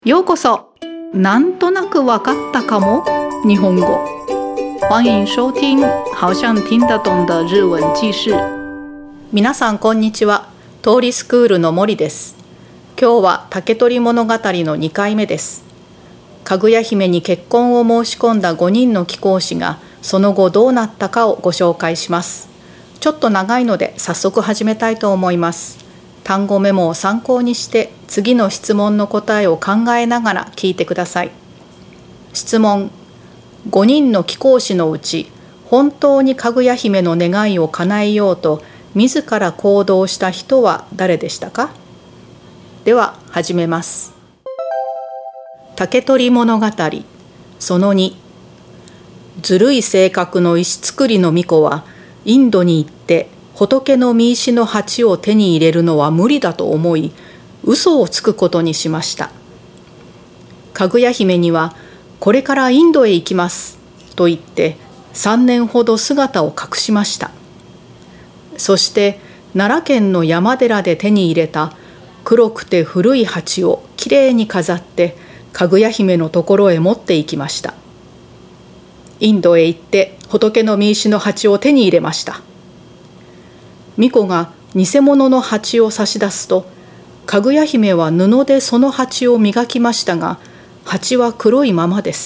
ようこそ。なんとなくわかったかも日本語。欢迎收听好像听得懂的日文記事。皆さんこんにちは。通りスクールの森です。今日は竹取物語の2回目です。かぐや姫に結婚を申し込んだ5人の貴公子がその後どうなったかをご紹介します。ちょっと長いので早速始めたいと思います。単語メモを参考にして次の質問の答えを考えながら聞いてください。質問。5人の貴公子のうち本当にかぐや姫の願いを叶えようと自ら行動した人は誰でしたか？では始めます。竹取物語その2。ずるい性格の石造りの巫女はインドに行って仏の見石の鉢を手に入れるのは無理だと思い、嘘をつくことにしました。かぐや姫には、これからインドへ行きますと言って3年ほど姿を隠しました。そして奈良県の山寺で手に入れた黒くて古い鉢をきれいに飾ってかぐや姫のところへ持って行きました。インドへ行って仏の見石の鉢を手に入れました。巫女が偽物の鉢を差し出すと、かぐや姫は布でその鉢を磨きましたが、鉢は黒いままです。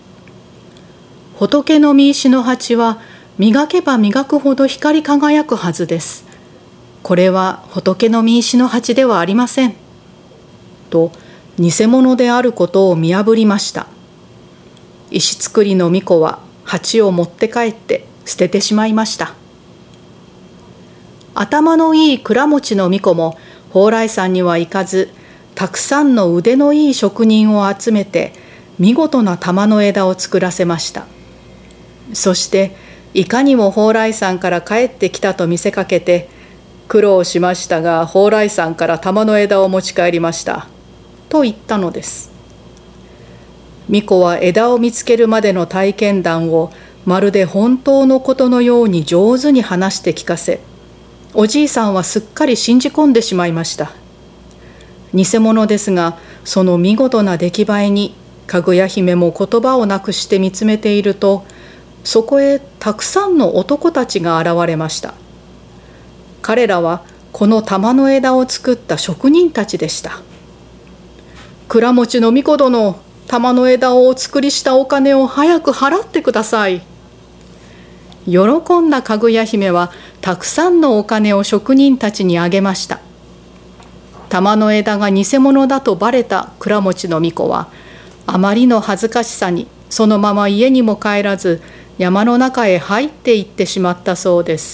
仏の見石の鉢は磨けば磨くほど光り輝くはずです。これは仏の見石の鉢ではありません。と、偽物であることを見破りました。石造りの巫女は鉢を持って帰って捨ててしまいました。頭のいい倉持の巫女も蓬莱山には行かず、たくさんの腕のいい職人を集めて見事な玉の枝を作らせました。そしていかにも蓬莱山から帰ってきたと見せかけて、苦労しましたが蓬莱山から玉の枝を持ち帰りましたと言ったのです。巫女は枝を見つけるまでの体験談をまるで本当のことのように上手に話して聞かせ、おじいさんはすっかり信じ込んでしまいました。偽物ですが、その見事な出来栄えにかぐや姫も言葉をなくして見つめていると、そこへたくさんの男たちが現れました。彼らはこの玉の枝を作った職人たちでした。倉持の巫女殿、玉の枝をお作りしたお金を早く払ってください。喜んだかぐや姫はたくさんのお金を職人たちにあげました。玉の枝が偽物だとばれた倉持の巫女はあまりの恥ずかしさにそのまま家にも帰らず山の中へ入っていってしまったそうです。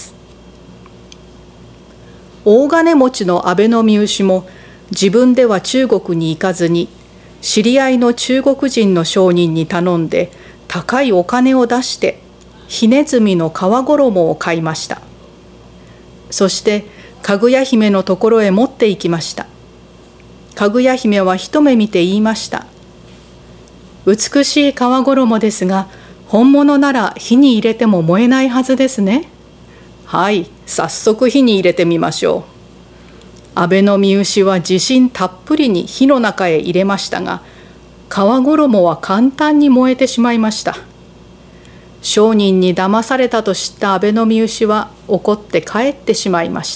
大金持ちの安倍の見牛も自分では中国に行かずに知り合いの中国人の商人に頼んで高いお金を出してひねずみの皮衣を買いました。そしてかぐや姫のところへ持って行きました。かぐや姫は一目見て言いました。美しい皮衣ですが、本物なら火に入れても燃えないはずですね。はい、早速火に入れてみましょう。安倍の見牛は自信たっぷりに火の中へ入れましたが、皮衣は簡単に燃えてしまいました。商人に騙されたと知った安倍の見牛は怒って帰ってしまいました。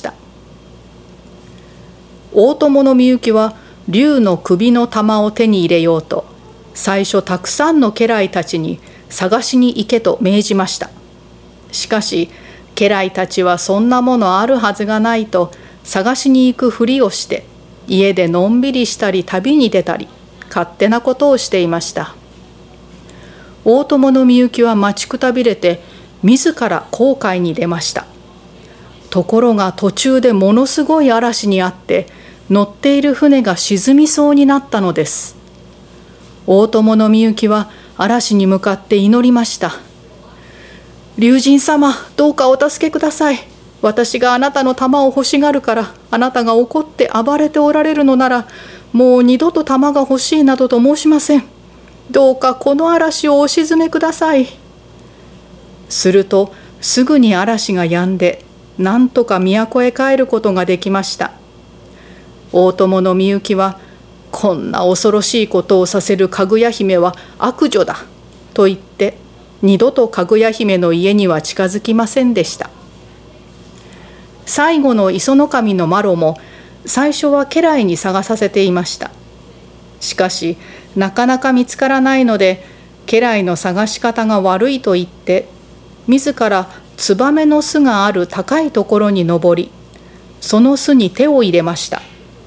大友のみゆきは竜の首の玉を手に入れようと、最初たくさんの家来たちに探しに行けと命じました。しかし家来たちはそんなものあるはずがないと探しに行くふりをして、家でのんびりしたり旅に出たり勝手なことをしていました。大友のみゆきは待ちくたびれて自ら航海に出ました。ところが途中でものすごい嵐にあって乗っている船が沈みそうになったのです。大友のみゆきは嵐に向かって祈りました。龍神様、どうかお助けください。私があなたの玉を欲しがるからあなたが怒って暴れておられるのなら、もう二度と玉が欲しいなどと申しません。どうかこの嵐をお沈めください。するとすぐに嵐が止んで、なんとか都へ帰ることができました。大友のみゆきはこんな恐ろしいことをさせるかぐや姫は悪女だと言って二度とかぐや姫の家には近づきませんでした。最後の磯の神のマロも最初は家来に探させていました。しかしなかなか見つからないので、家来の探し方が悪いと言って自らツバメの巣がある高いところに登り、その巣に手を入れました。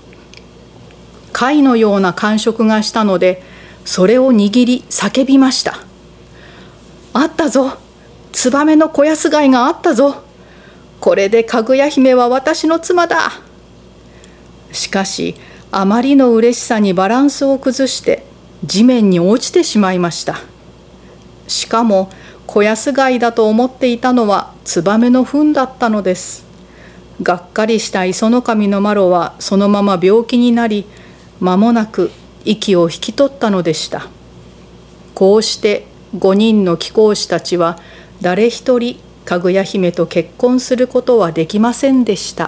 貝のような感触がしたので、それを握り叫びました。あったぞ、ツバメの子安貝があったぞ。これでかぐや姫は私の妻だ。しかしあまりの嬉しさにバランスを崩して地面に落ちてしまいました。しかも子安貝だと思っていたのはツバメの糞だったのです。がっかりした磯の神のマロはそのまま病気になり、間もなく息を引き取ったのでした。こうして5人の貴公子たちは誰一人かぐや姫と結婚することはできませんでした。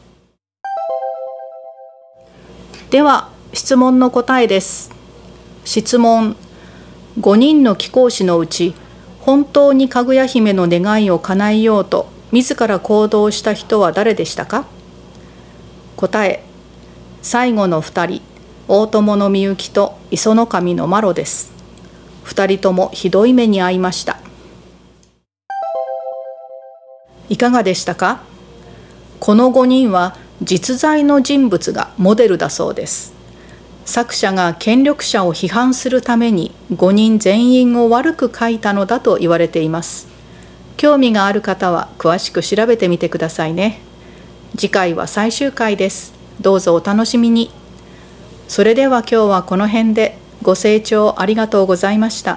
では質問の答えです。質問。5人の貴公子のうち本当にかぐや姫の願いを叶えようと自ら行動した人は誰でしたか？答え。最後の2人、大友のみゆきと磯の神のマロです。2人ともひどい目に遭いました。いかがでしたか？この5人は実在の人物がモデルだそうです。作者が権力者を批判するために5人全員を悪く書いたのだと言われています。興味がある方は詳しく調べてみてくださいね。次回は最終回です。どうぞお楽しみに。それでは今日はこの辺で。ご清聴ありがとうございました。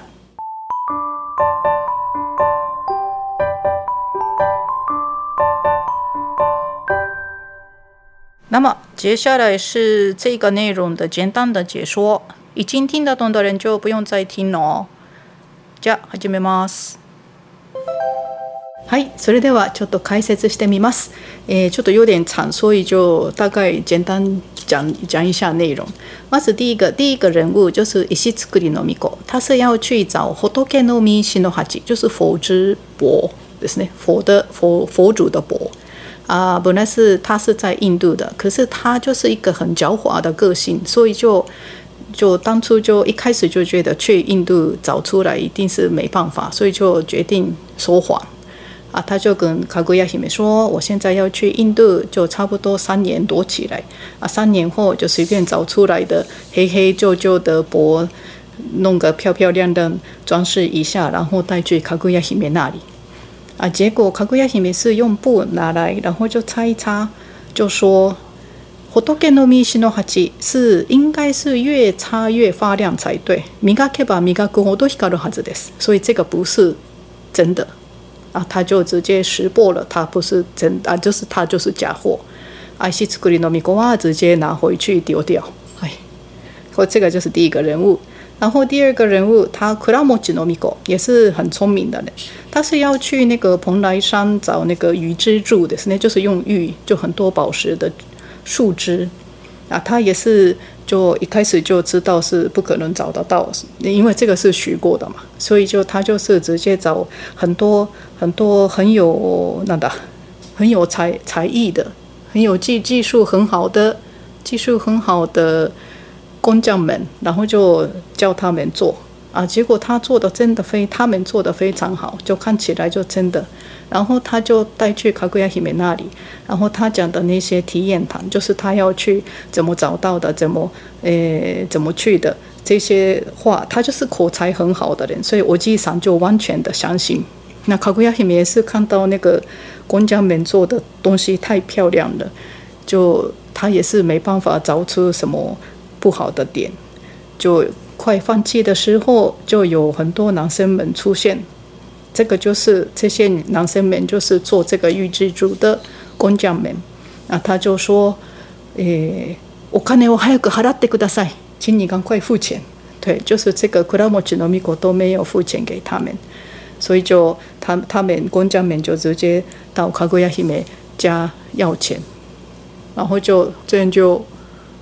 那么接下来是这个内容的简单的解说，已经听得懂的人就不用再听了哦。じゃあ始めます。はい、それではちょっと解説してみます。ちょっと有点长，所以就大概简单讲一下内容。まず第一个人物就是石造りの巫女，他是要去找仏の御石の鉢，就是佛之钵ですね，佛主的钵。本来他是在印度的，可是他就是一个很狡猾的个性，所以就当初就一开始就觉得去印度找出来一定是没办法，所以就决定说谎。他就跟かぐや姫说，我现在要去印度，就差不多3年躲起来。3年后就随便找出来的黑黑旧旧的钵，弄个漂漂亮亮装饰一下，然后带去かぐや姫那里。结果かぐや姫是用布拿来，然后就擦一擦，就说仏の御石の鉢是应该是越擦越发亮才对，磨けば磨くほど光るはずです。所以这个不是真的。他就直接识破了，他不是真就是他就是假货。石造りの巫女は直接拿回去丢掉。这个就是第一个人物。然后第二个人物，他倉持の巫女也是很聪明的人，他是要去那个蓬莱山找那个玉之柱的，就是用玉就很多宝石的树枝。他也是就一开始就知道是不可能找得到，因为这个是学过的嘛，所以他就是直接找很多很有才艺的，很有技术很好的工匠们，然后就叫他们做。结果他们做的非常好，就看起来就真的。然后他就带去かぐや姫那里，然后他讲的那些体验谈，就是他要去怎么找到的，怎么去的这些话，他就是口才很好的人，所以我基本上就完全的相信。那かぐや姫也是看到那个工匠们做的东西太漂亮了，就他也是没办法找出什么不好的点，就快放弃的时候，就有很多男生们出现。这个就是这些男生们就是做这个玉之柱的工匠们。他就说，お金を早く払ってください，请你赶快付钱。对，就是这个倉持の巫女都没有付钱给他们，所以就他们工匠们就直接到かぐや姫家要钱，然后就这样就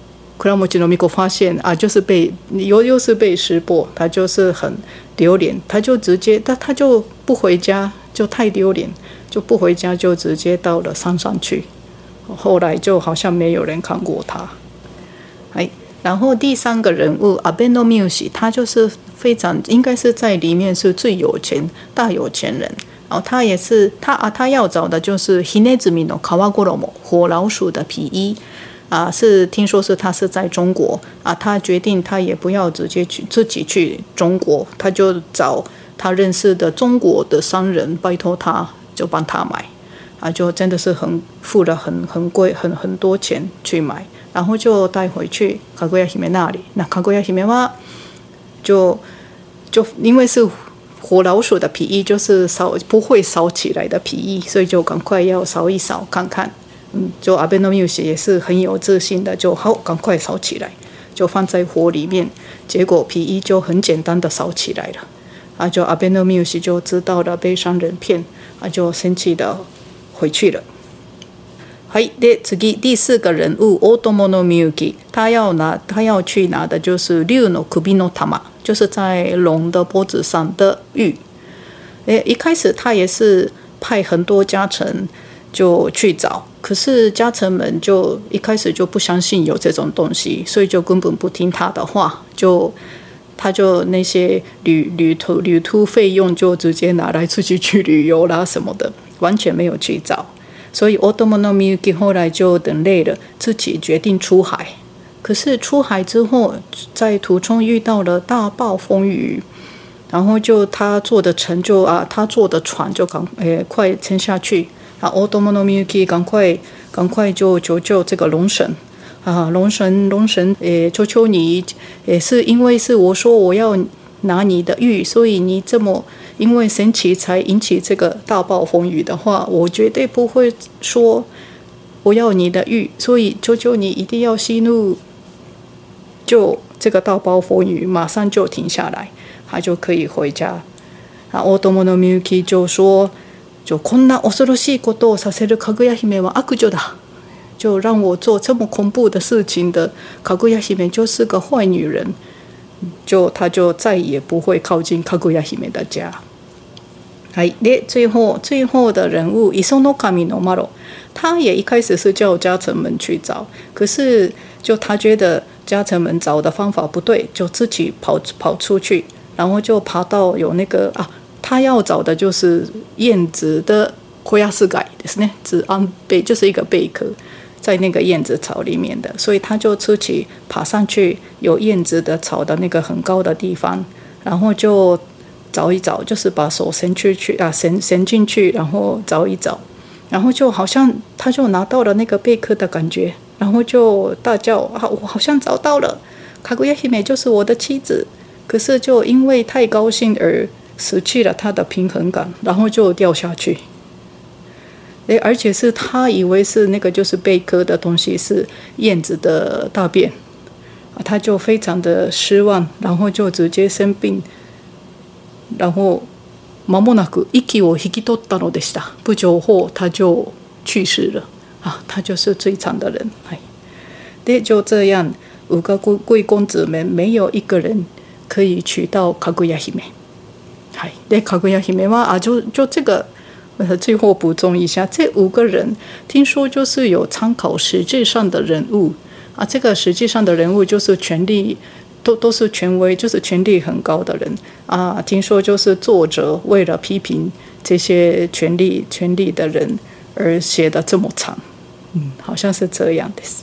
倉持の巫女发现啊，就是又是被识破，他就是很丢脸，他就直接他就不回家，就太丢脸，就不回家，就直接到了山上去。后来就好像没有人看过他。然后第三个人物阿贝诺缪西，他就是非常应该是在里面是最大有钱人。然后他也是他要找的就是ヒネズミの皮衣火老鼠的皮衣是听说是他是在中国他决定他也不要直接自己去中国，他就找他认识的中国的商人，拜托他就帮他买就真的是付了很贵很多钱去买，然后就带回去かぐや姫那里。那かぐや姫は就因为是火老鼠的皮衣，就是不会烧起来的皮衣，所以就赶快要烧一烧看看。就阿贝诺缪西也是很有自信的，就好赶快烧起来，就放在火里面，结果皮衣就很简单的烧起来了就阿贝诺缪西就知道了被商人骗就生气的回去了。で次第四个人物大友のみゆき，他要去拿的就是竜の首の玉，就是在龙的脖子上的玉。一开始他也是派很多家臣就去找，可是家臣们就一开始就不相信有这种东西，所以就根本不听他的话，他就那些旅途费用就直接拿来自己去旅游啦什么的，完全没有去找。所以大友のみゆき后来就等累了，自己决定出海。可是出海之后，在途中遇到了大暴风雨，然后就他坐的船就快沉下去大友のみゆき赶快就求救这个龙神龙神求求你是因为是我说我要拿你的玉，所以你这么因为神奇才引起这个大暴风雨的话，我绝对不会说我要你的玉，所以求求你一定要息怒，就这个大暴风雨马上就停下来，他就可以回家。大友のみゆき就说就こんな恐ろしいことをさせるかぐや姫は悪女だ，就让我做这么恐怖的事情的かぐや姫就是个坏女人，他就再也不会靠近かぐや姫的家。で最後的人物磯の神のマロ，他也一开始是叫家臣们去找，可是就他觉得家臣们找的方法不对，就自己跑出去，然后就爬到有那个他要找的就是燕子的小安貝ですね，子安貝就是一个贝壳，在那个燕子草里面的，所以他就自己爬上去有燕子的草的那个很高的地方，然后就找一找，就是把手伸进去，然后找一找，然后就好像他就拿到了那个贝壳的感觉，然后就大叫我好像找到了，かぐや姫就是我的妻子，可是就因为太高兴而失去了他的平衡感，然后就掉下去。而且是他以为是那个就是贝壳的东西是燕子的大便他就非常的失望，然后就直接生病，然后間もなく息を引き取ったのでした。不久后他就去世了他就是最惨的人。就这样5个贵公子们没有一个人可以娶到かぐや姫。でかぐや姫は就这个最后补充一下，这5个人听说就是有参考实际上的人物这个实际上的人物就是权力都是权威，就是权力很高的人听说就是作者为了批评这些权力的人而写的这么长好像是这样です。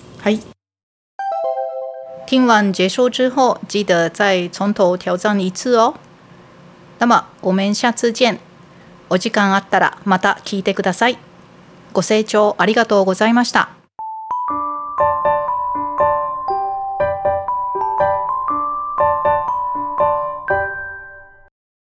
听完结束之后记得再从头挑战一次哦。那么我们下次见。お時間あったらまた聞いてください。ご清聴ありがとうございました。